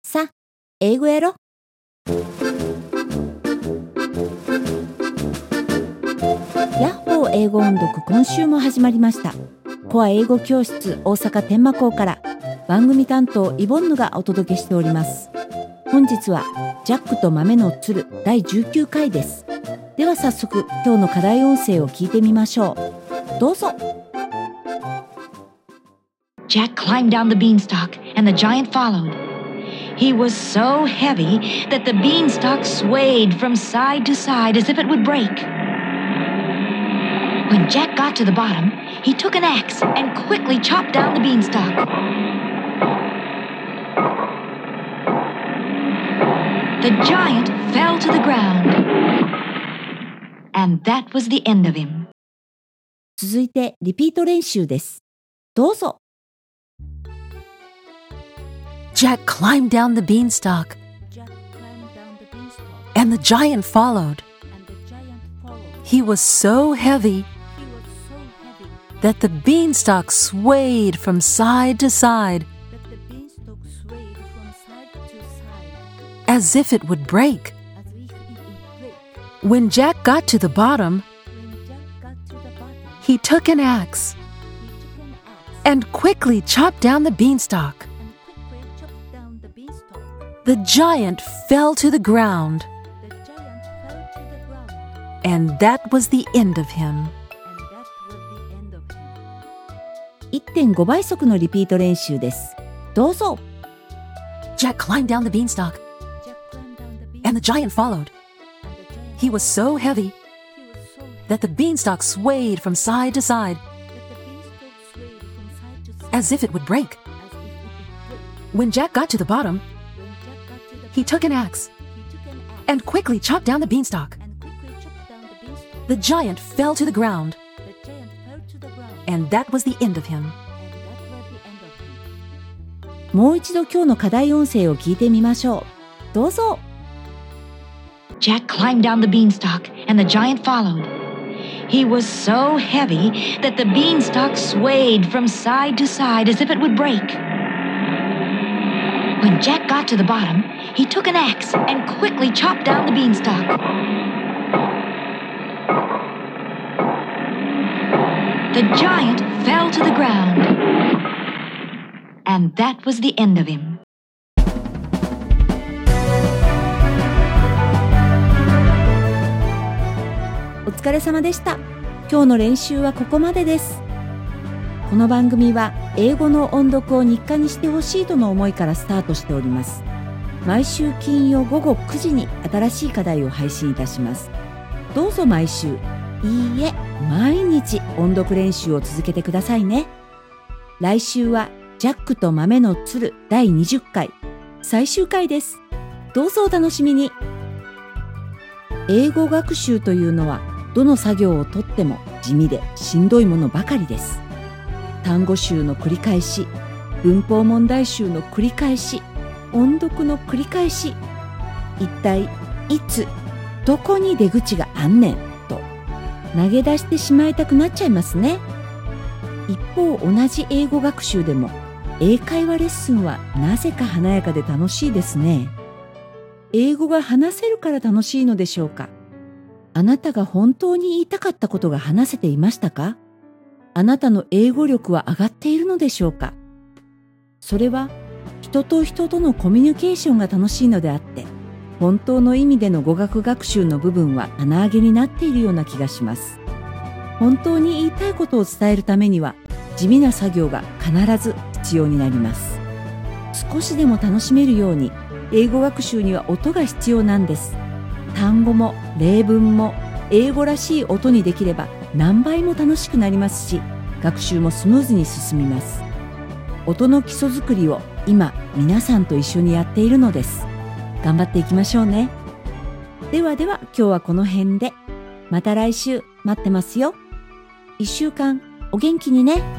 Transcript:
さあ、英語やろ。ヤッホー英語音読、今週も始まりました。コア英語教室大阪天満校から番組担当イボンヌがお届けしております。本日はジャックと豆のつる第19回です。では早速今日の課題音声を聞いてみましょう。どうぞ。 Jack climbed down the beanstalk, and the giant followed. He was so heavy that the beanstalk swayed from side to side as if it would break. When Jack got to the bottom, he took an axe and quickly chopped down the beanstalk. The giant fell to the ground, and that was the end of him. 続いてリピート練習です。どうぞ。 Jack climbed down the beanstalk, and the giant followed. He was so heavy that the beanstalk swayed from side to side, as if it would break. When Jack got to the bottom, he took an axe and quickly chopped down the beanstalk. The giant fell to the ground, and that was the end of him. 1.5 倍速のリピート練習です。どうぞ。 Jack climbed down the beanstalk, and the giant followed. He was so heavy that the beanstalk swayed from side to side, as if it would break. When Jack got to the bottom, he took an axe and quickly chopped down the beanstalk. The giant fell to the ground, and that was the end of him. もう一度今日の課題音声を聞いてみましょう。どうぞ。 Jack climbed down the beanstalk, and the giant followed. He was so heavy that the beanstalk swayed from side to side as if it would break. When Jack got to the bottom, he took an axe and quickly chopped down the beanstalk. The giant fell to the ground, and that was the end of him. お疲れ様でした。今日の練習はここまでです。この番組は英語の音読を日課にしてほしいとの思いからスタートしております。毎週金曜午後9時に新しい課題を配信いたします。どうぞ毎週、いいえ、毎日音読練習を続けてくださいね。来週はジャックと豆のつる第20回、最終回です。どうぞお楽しみに。英語学習というのはどの作業をとっても地味でしんどいものばかりです。単語集の繰り返し、文法問題集の繰り返し、音読の繰り返し、一体いつどこに出口があんねんと投げ出してしまいたくなっちゃいますね。一方、同じ英語学習でも英会話レッスンはなぜか華やかで楽しいですね。英語が話せるから楽しいのでしょうか。あなたが本当に言いたかったことが話せていましたか？あなたの英語力は上がっているのでしょうか？それは人と人とのコミュニケーションが楽しいのであって、本当の意味での語学学習の部分は穴あげになっているような気がします。本当に言いたいことを伝えるためには地味な作業が必ず必要になります。少しでも楽しめるように英語学習には音が必要なんです。単語も例文も英語らしい音にできれば何倍も楽しくなりますし、学習もスムーズに進みます。音の基礎作りを今皆さんと一緒にやっているのです。頑張っていきましょうね。ではでは今日はこの辺で。また来週待ってますよ。1週間お元気にね。